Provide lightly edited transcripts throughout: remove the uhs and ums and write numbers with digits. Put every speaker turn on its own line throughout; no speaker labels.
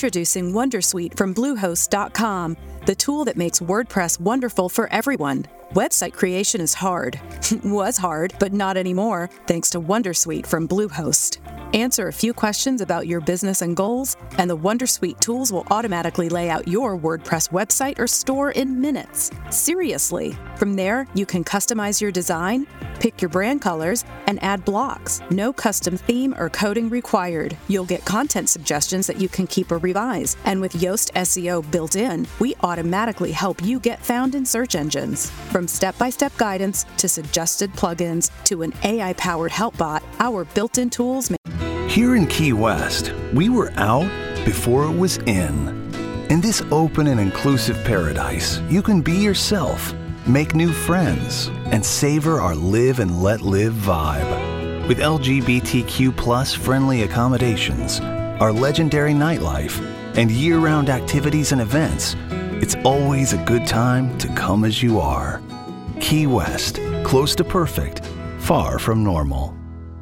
Introducing Wondersuite from Bluehost.com, the tool that makes WordPress wonderful for everyone. Website creation is hard. Was hard, but not anymore, thanks to Wondersuite from Bluehost. Answer a few questions about your business and goals, and the Wondersuite tools will automatically lay out your WordPress website or store in minutes. Seriously. From there, you can customize your design, pick your brand colors, and add blocks. No custom theme or coding required. You'll get content suggestions that you can keep or revise. And with Yoast SEO built in, we automatically help you get found in search engines. From step-by-step guidance to suggested plugins to an AI-powered help bot, our built-in tools make...
Here in Key West, we were out before it was in. In this open and inclusive paradise, you can be yourself, make new friends, and savor our live and let live vibe. With LGBTQ+ friendly accommodations, our legendary nightlife, and year-round activities and events, it's always a good time to come as you are. Key West, close to perfect, far from normal.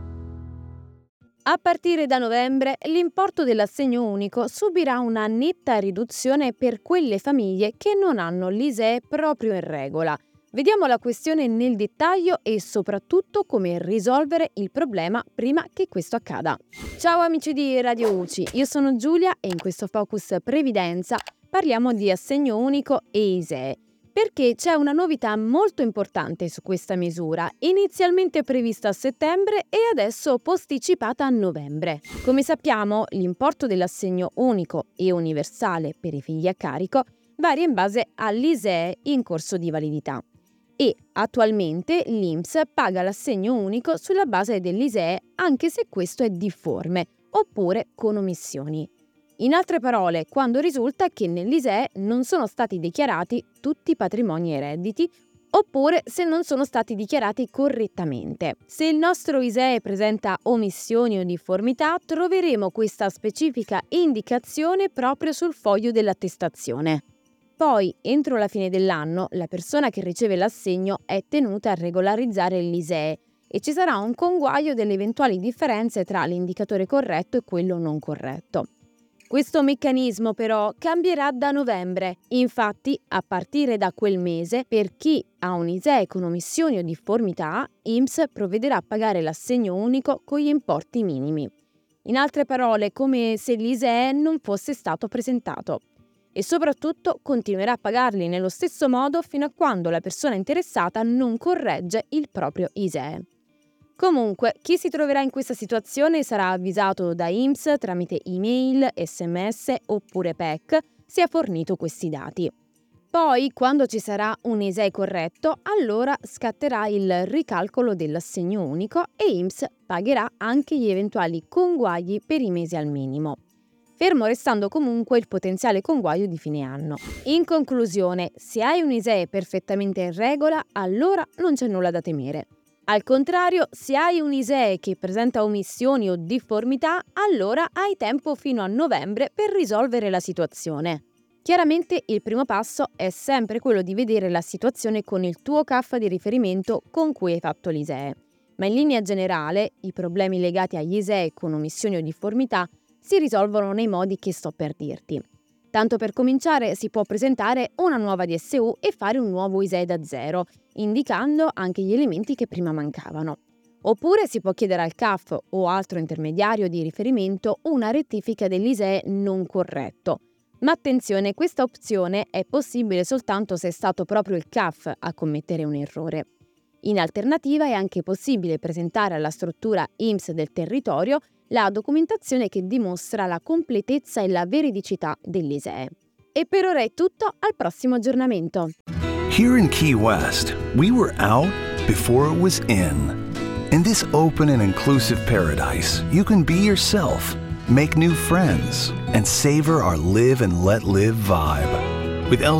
A partire da novembre, l'importo dell'assegno unico subirà una netta riduzione per quelle famiglie che non hanno l'ISEE proprio in regola. Vediamo la questione nel dettaglio e soprattutto come risolvere il problema prima che questo accada. Ciao amici di Radio UCI, io sono Giulia e in questo Focus Previdenza parliamo di assegno unico e ISEE. Perché c'è una novità molto importante su questa misura, inizialmente prevista a settembre e adesso posticipata a novembre. Come sappiamo, l'importo dell'assegno unico e universale per i figli a carico varia in base all'ISEE in corso di validità e attualmente l'INPS paga l'assegno unico sulla base dell'ISEE anche se questo è difforme oppure con omissioni. In altre parole, quando risulta che nell'ISEE non sono stati dichiarati tutti i patrimoni e redditi, oppure se non sono stati dichiarati correttamente. Se il nostro ISEE presenta omissioni o difformità, troveremo questa specifica indicazione proprio sul foglio dell'attestazione. Poi, entro la fine dell'anno, la persona che riceve l'assegno è tenuta a regolarizzare l'ISEE e ci sarà un conguaglio delle eventuali differenze tra l'indicatore corretto e quello non corretto. Questo meccanismo però cambierà da novembre. Infatti, a partire da quel mese, per chi ha un ISEE con omissioni o difformità, INPS provvederà a pagare l'assegno unico con gli importi minimi. In altre parole, come se l'ISEE non fosse stato presentato. E soprattutto continuerà a pagarli nello stesso modo fino a quando la persona interessata non corregge il proprio ISEE. Comunque, chi si troverà in questa situazione sarà avvisato da INPS tramite email, SMS oppure PEC se ha fornito questi dati. Poi, quando ci sarà un ISEE corretto, allora scatterà il ricalcolo dell'assegno unico e INPS pagherà anche gli eventuali conguagli per i mesi al minimo, fermo restando comunque il potenziale conguaglio di fine anno. In conclusione, se hai un ISEE perfettamente in regola, allora non c'è nulla da temere. Al contrario, se hai un ISEE che presenta omissioni o difformità, allora hai tempo fino a novembre per risolvere la situazione. Chiaramente il primo passo è sempre quello di vedere la situazione con il tuo CAF di riferimento con cui hai fatto l'ISEE. Ma in linea generale, i problemi legati agli ISEE con omissioni o difformità si risolvono nei modi che sto per dirti. Tanto per cominciare si può presentare una nuova DSU e fare un nuovo ISEE da zero, indicando anche gli elementi che prima mancavano. Oppure si può chiedere al CAF o altro intermediario di riferimento una rettifica dell'ISEE non corretto. Ma attenzione, questa opzione è possibile soltanto se è stato proprio il CAF a commettere un errore. In alternativa è anche possibile presentare alla struttura INPS del territorio la documentazione che dimostra la completezza e la veridicità dell'ISEE. E per ora è tutto, al prossimo aggiornamento.
Here in Key West, we were out before it was in. In this open and inclusive paradise, you can be yourself, make new friends, and savor our live and let live vibe. With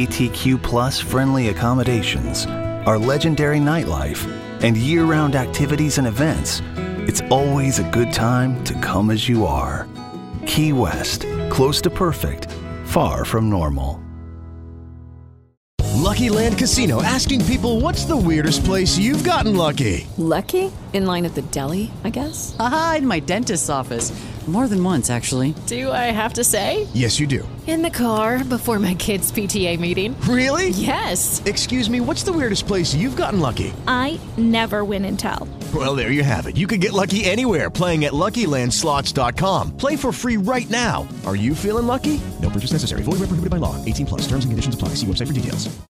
LGBTQ+ friendly accommodations, our legendary nightlife, and year-round activities and events, it's always a good time to come as you are. Key West, close to perfect, far from normal.
Lucky Land Casino, asking people, what's the weirdest place you've gotten lucky?
Lucky? In line at the deli, I guess?
Aha, in my dentist's office. More than once, actually.
Do I have to say?
Yes, you do.
In the car before my kids' PTA meeting.
Really?
Yes.
Excuse me, what's the weirdest place you've gotten lucky?
I never win and tell.
Well, there you have it. You can get lucky anywhere, playing at LuckyLandSlots.com. Play for free right now. Are you feeling lucky? No purchase necessary. Void where prohibited by law. 18 plus. Terms and conditions apply. See website for details.